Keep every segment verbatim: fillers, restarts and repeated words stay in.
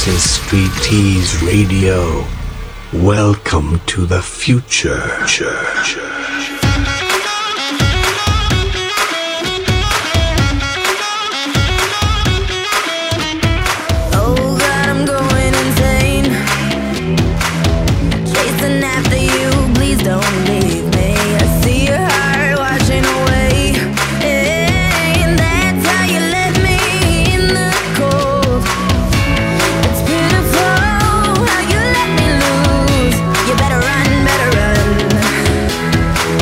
is Street Tease Radio. Welcome to the future. You better run, better run.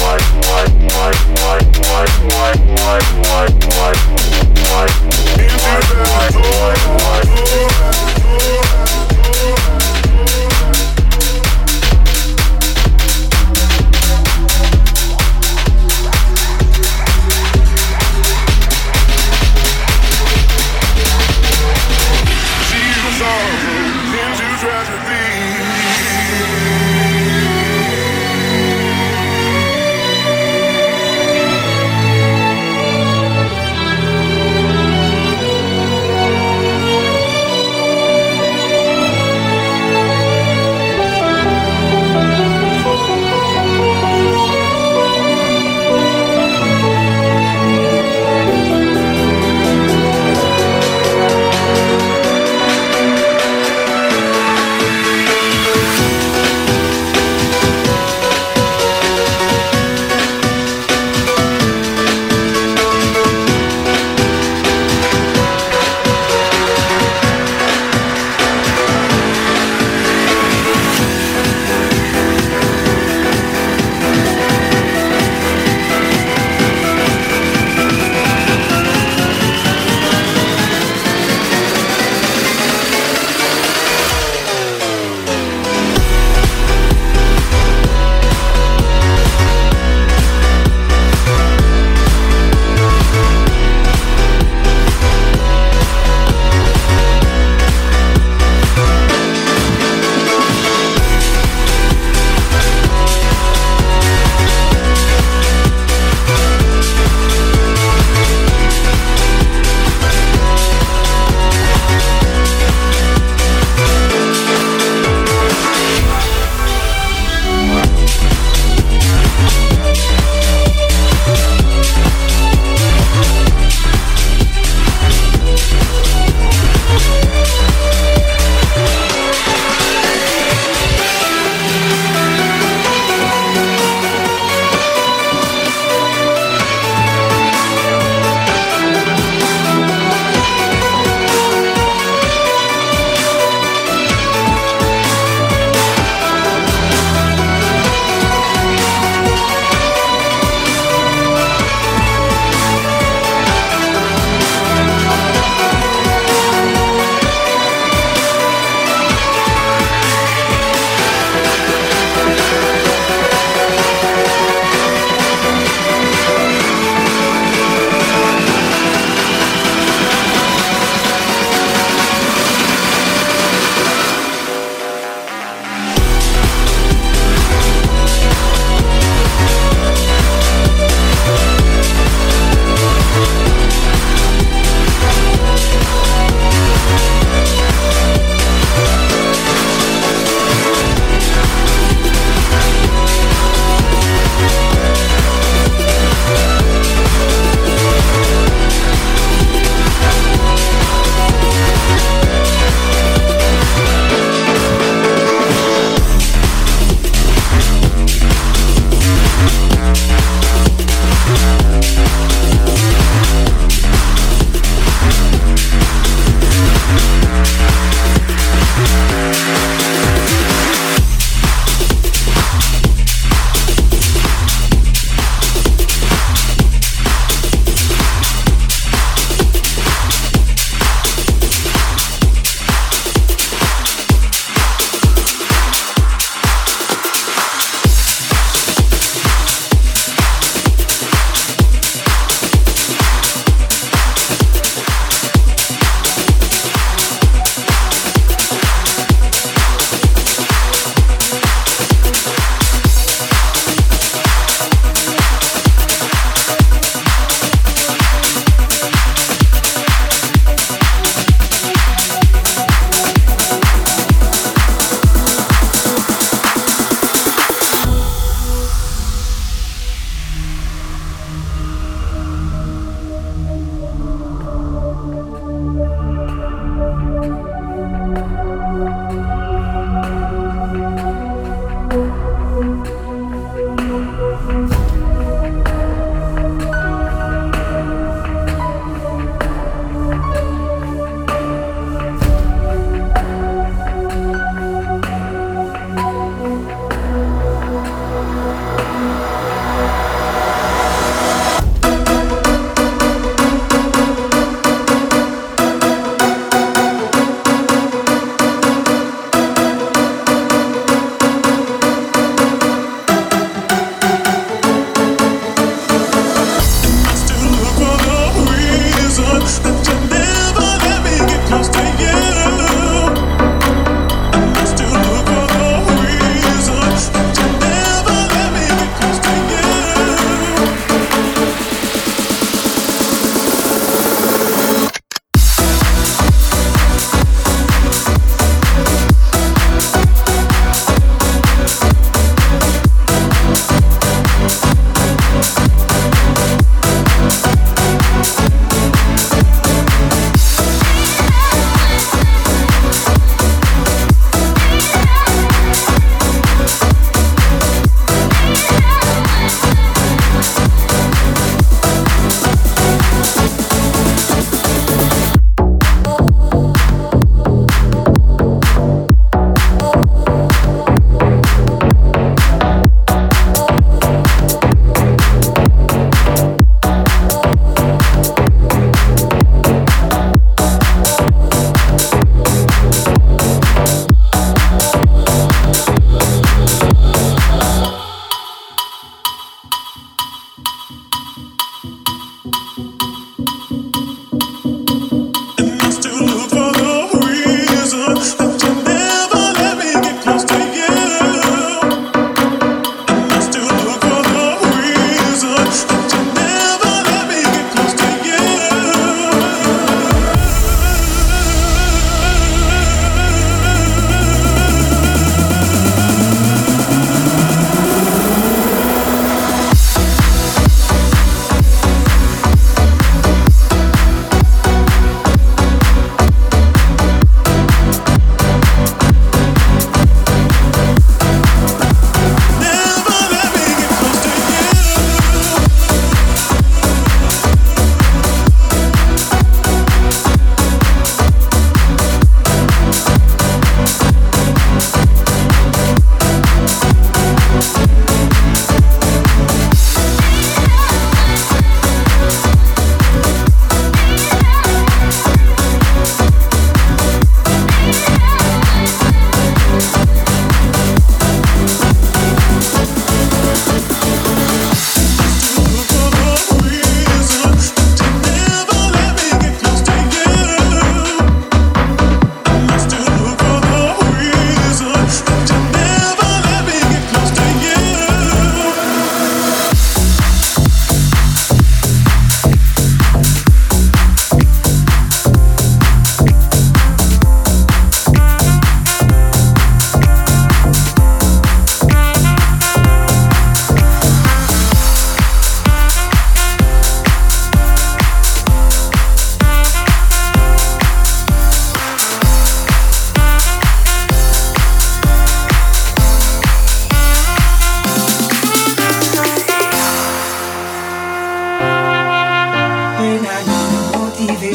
Tragedy.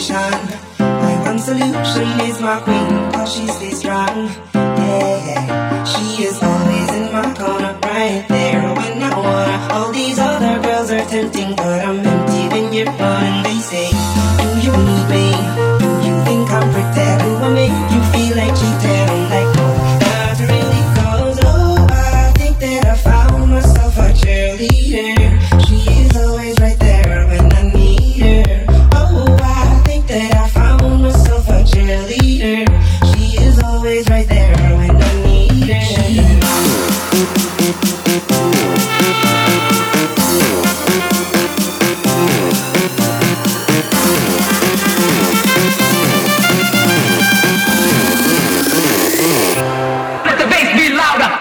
motivation. My one solution is my queen, cause she stays strong. Yeah, yeah. She is always in my corner, right there when I wanna. All these other girls are tempting, but I'm empty when you're gone. And they say, do you need me? Do you think I'm pretty? Do I make you feel like cheating? I'm like, no, not really, cause oh, I think that I found myself a cheerleader. She is always right there when I need her. Oh, I think that I found myself a cheerleader. She is always right there when I need her. Let the bass be louder.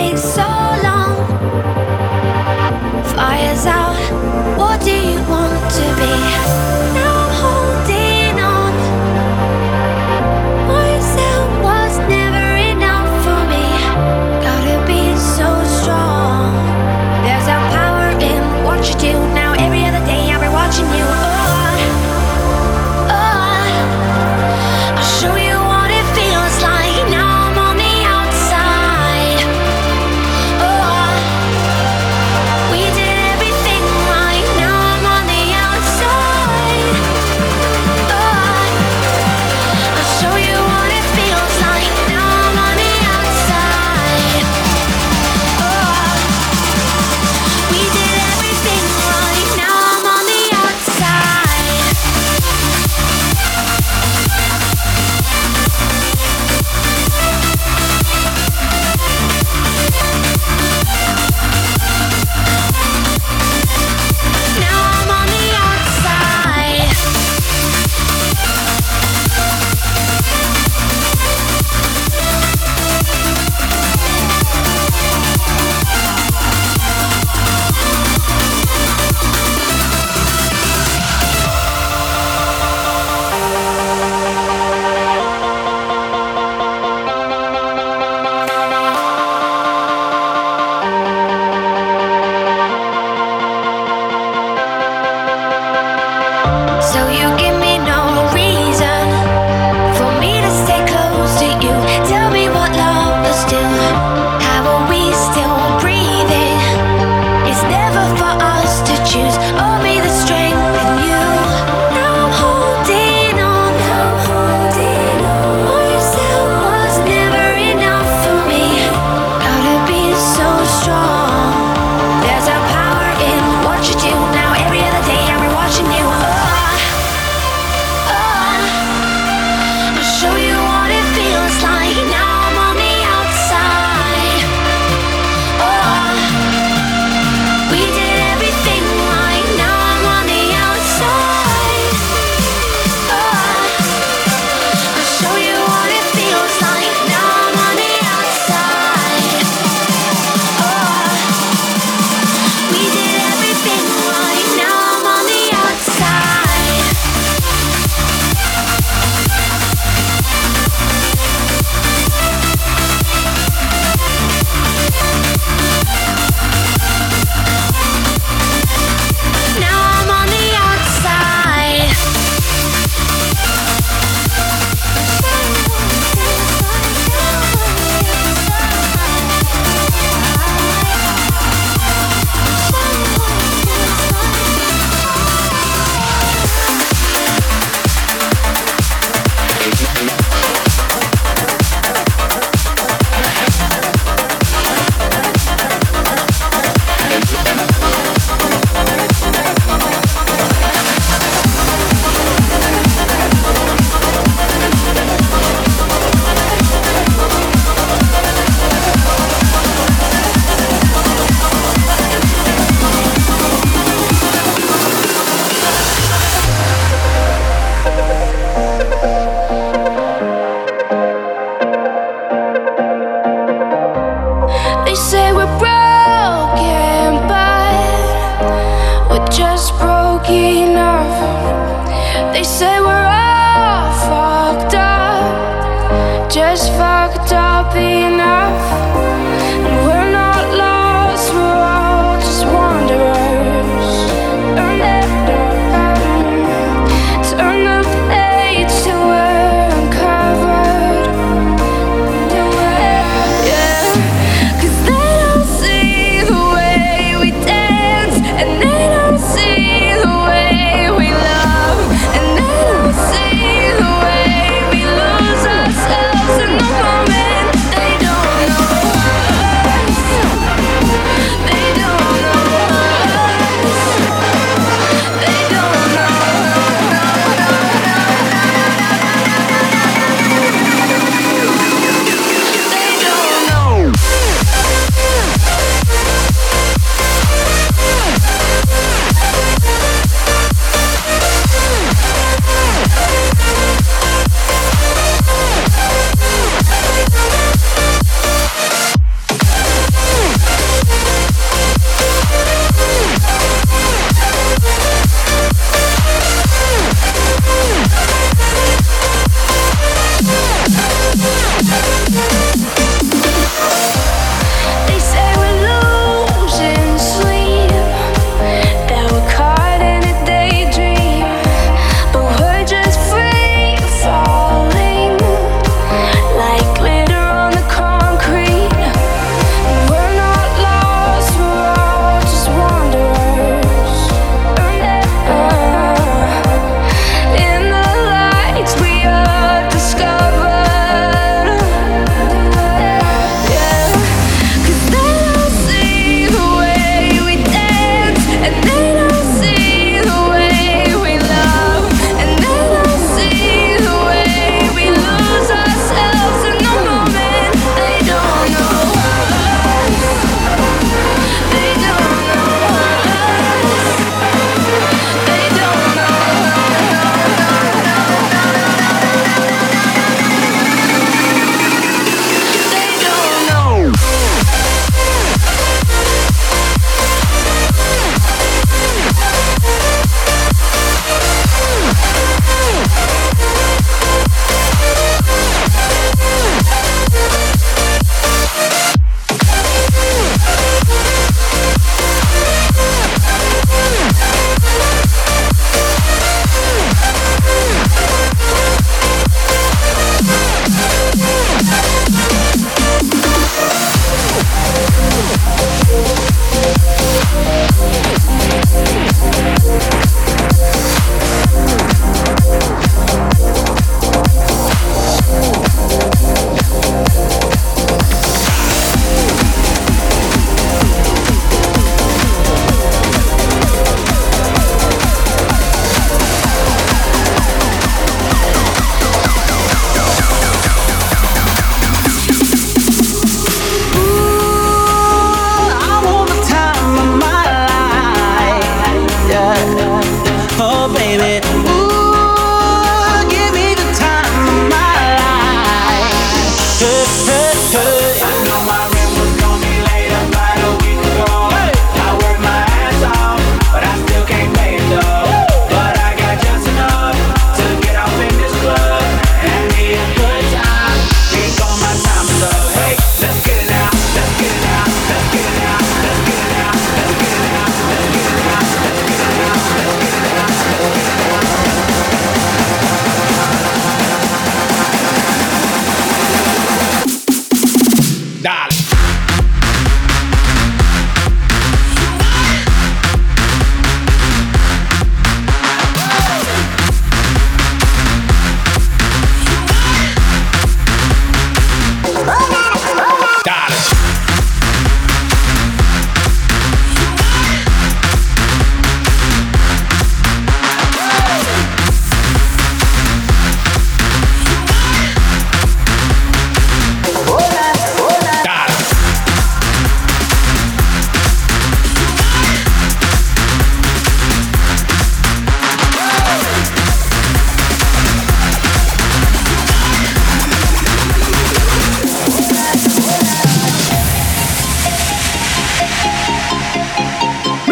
been so long. Fire's out, what do you want to be? Now I'm holding on. Myself was never enough for me. Gotta be so strong. There's a power in what you do. Now every other day I'll be watching you. Oh, oh, I'll show you what it feels like. Now I'm on the outside. Oh, we did everything right. Now I'm on the outside. Oh, I'll show you what it feels like. Now I'm on the outside. Oh, we did everything right. Now I'm on the outside. Now I'm on the outside. So you give me no reason for me to stay close to you. Tell me what love is still. How are we still breathing? It's never for us to choose. Or be the strength in you. Now I'm holding on. Now I'm holding on. Myself was never enough for me. Gotta be so strong. There's a power in what you do. Now every other day I'll be watching you. Oh, I'll show you what it feels like. Now I'm on the outside. Oh, we did everything right. Now I'm on the outside. Oh, I'll show you what it feels like. Now I'm on the outside. Oh, we did everything right. Now I'm on the outside. Now I'm on the outside. They say we're broken, but we're just broke enough. They say we're all fucked up, just fucked up enough. And we're not lost, we're all just wanderers. Turn the, turn the page till we're uncovered. Yeah, 'cause they don't see the way we dance, and they don't see the way we love, and they don't see the way we lose ourselves in the moment.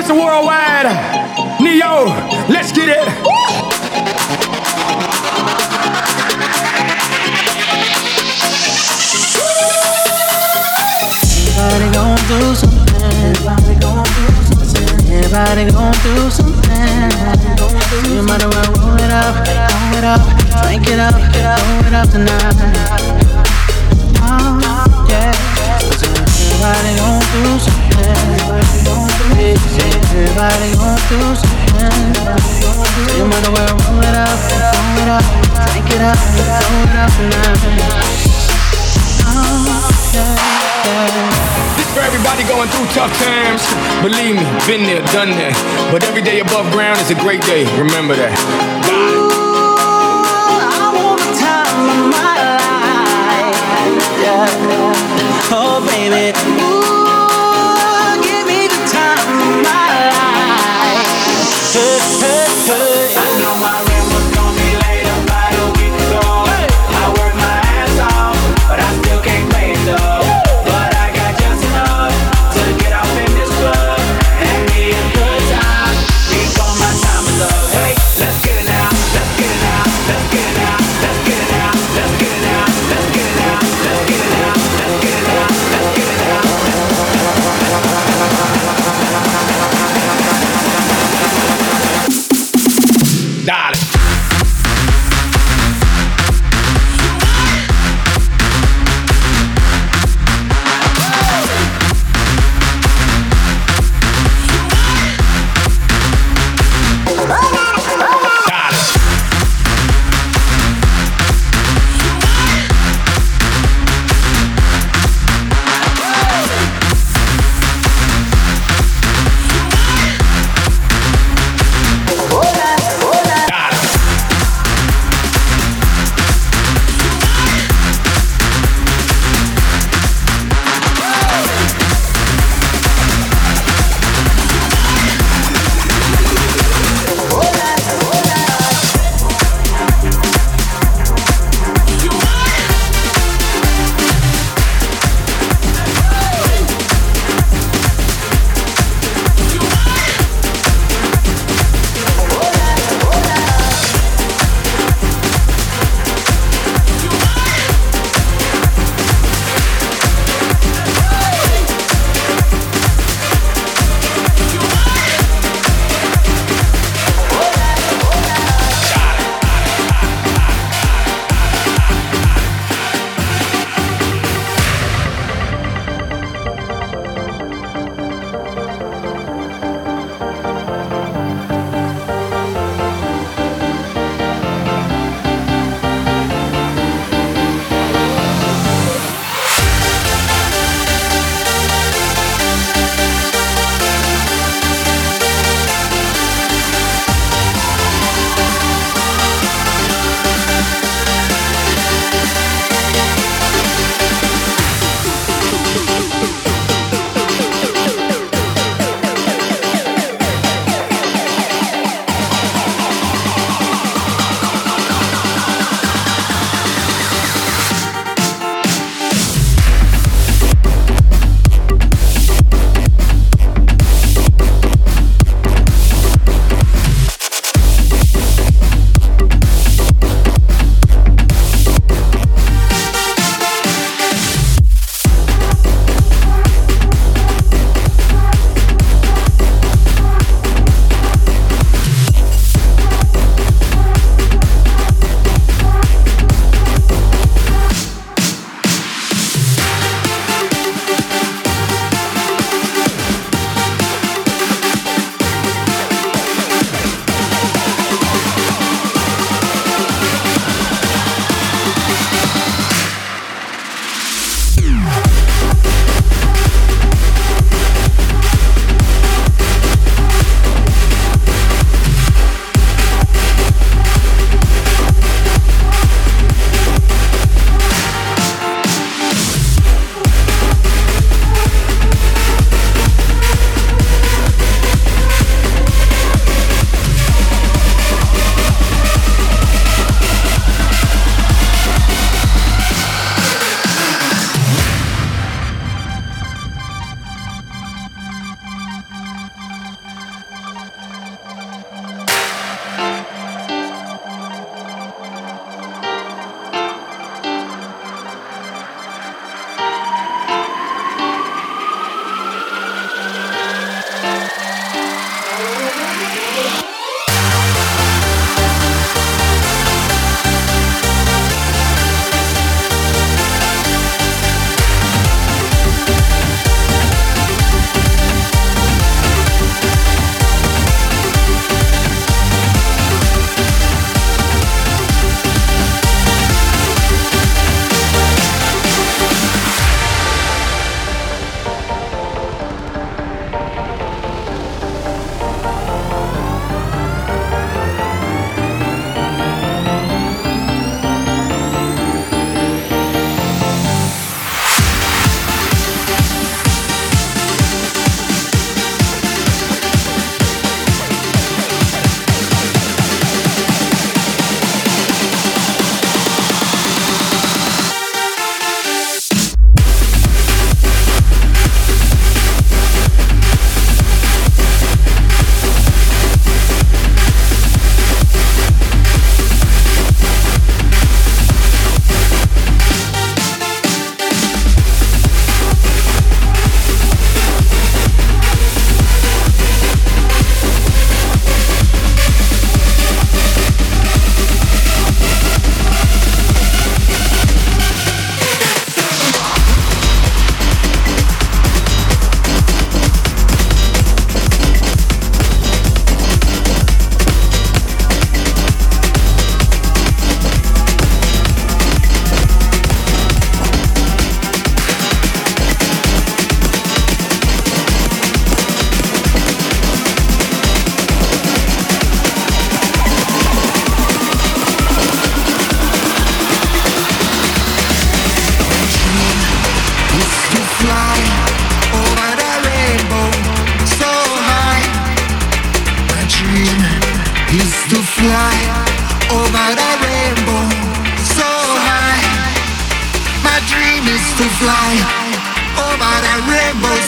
Mister Worldwide, Neo, let's get it. Everybody gon' do something. Everybody gon' do something. Everybody gon' do something. You might as well roll it up, roll it up, drink it up, roll it up tonight. Oh, yeah. Everybody gon' do something. Everybody gon' do something. Everybody gon' do something. You might as well roll it up, roll it up, drink it up, roll it up tonight. Oh, yeah. This for everybody going through tough times. Believe me, been there, done that. But every day above ground is a great day. Remember that. Ooh, I want the time of my life. Yeah. Oh, baby. Ooh, give me the time of my life. Hey, hey, hey. I know my rent was gonna be late about a week ago. Hey. I worked my ass off, but I still can't pay it though.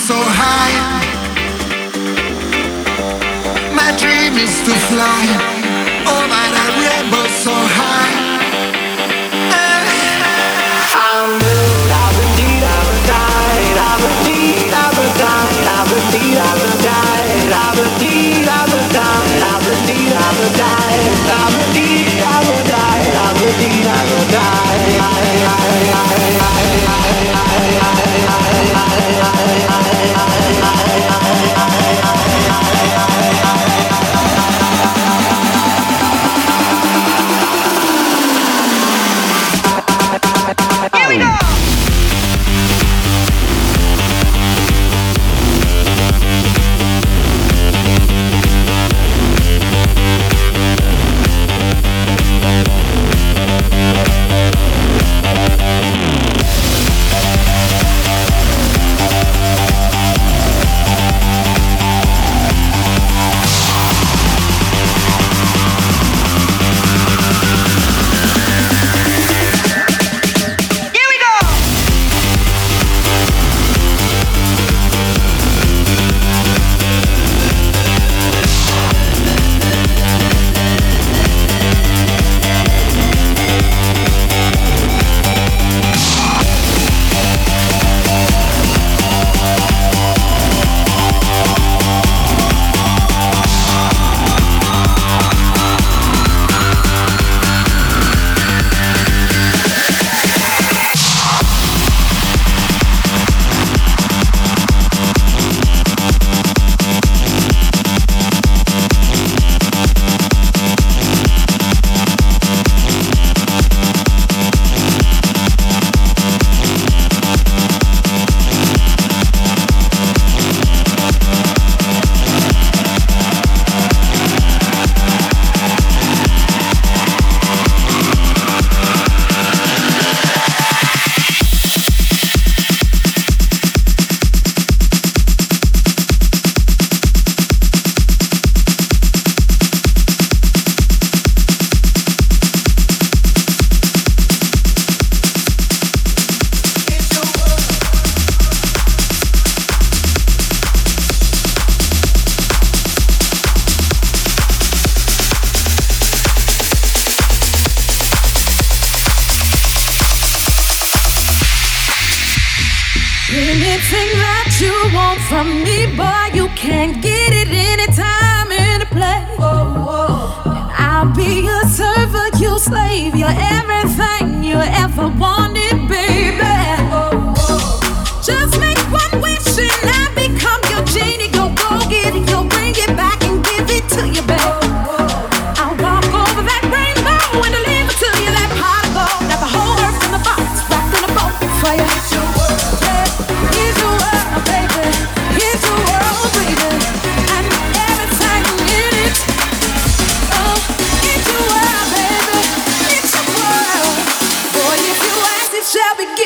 so high. My dream is to fly over that rainbow so high. I'm moved, I would need, I would die, I would need, I would die, I would need, I would die, I would need, I would die, I would need, I would die, I would need, I would die, I would need, I would die. Here we go! Anything that you want from me, boy, you can get it anytime, any place. And I'll be your servant, you slave, you're everything you ever wanted, baby. Just make one wish and I become your genie. Go, go get it, go bring it back and give it to you, baby. I'll walk over that rainbow and deliver to you that pot of gold. That the whole earth in the box, wrapped in a boat for you. Here's your world, baby. Here's your world, baby. And everything in it. Oh, it's your world, baby. It's your world. Boy, if you ask, it shall be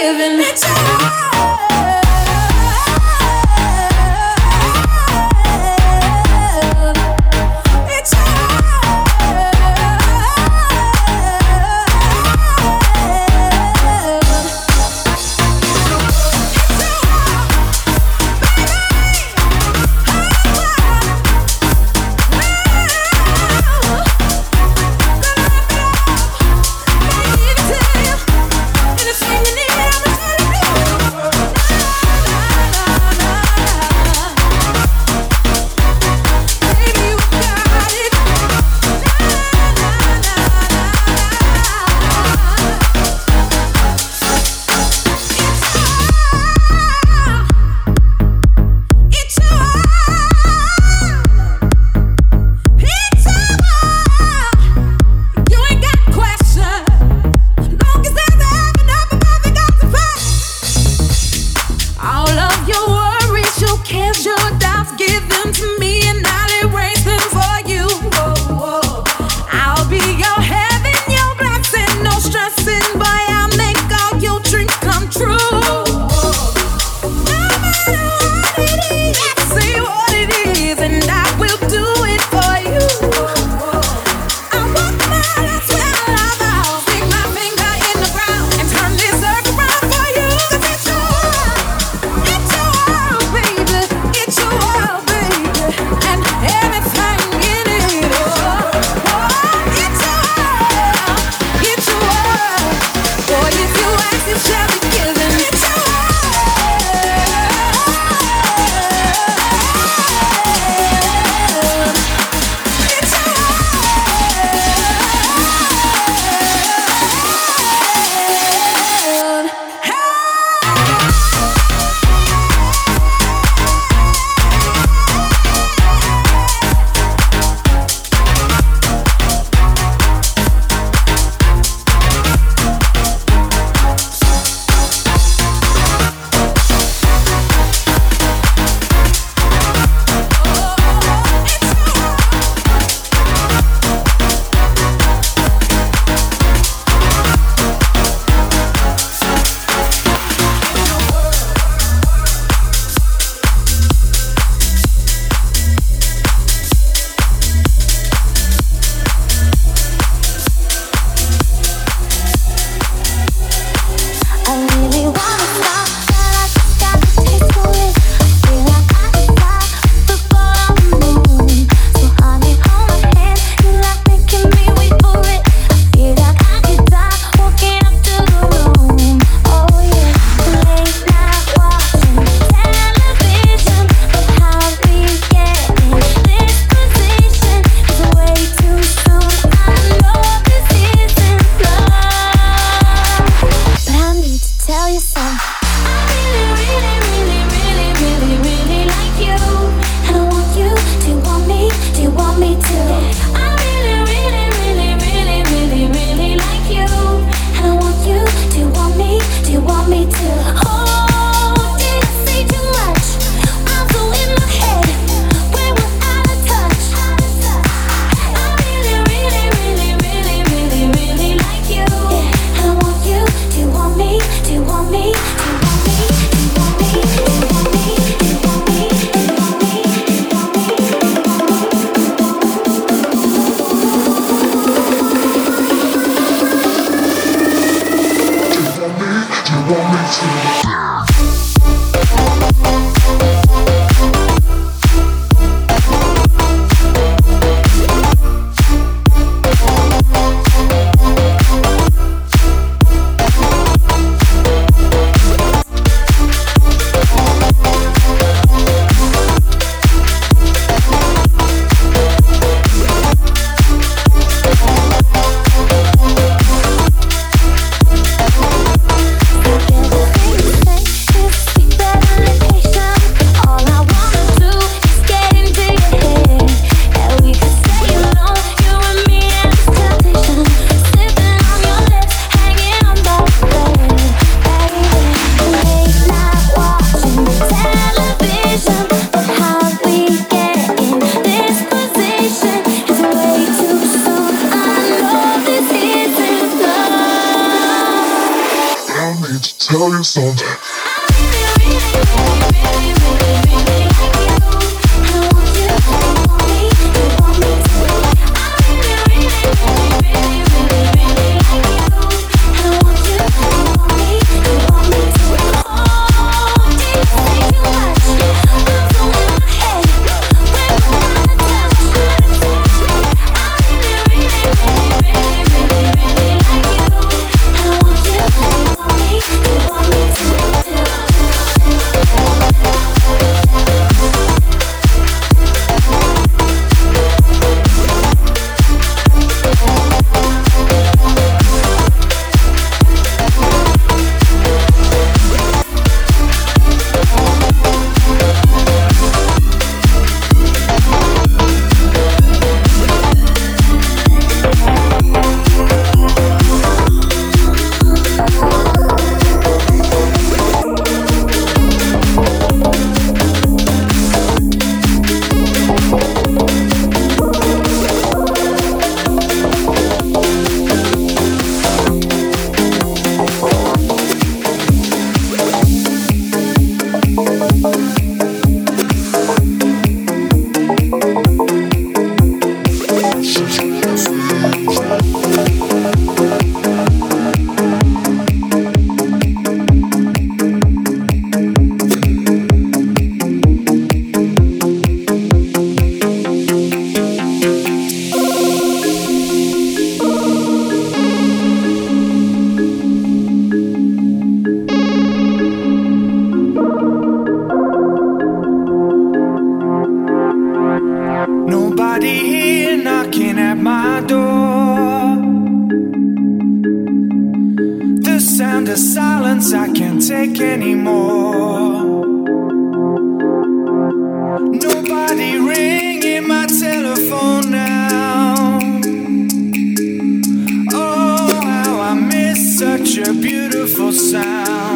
Such a beautiful sound.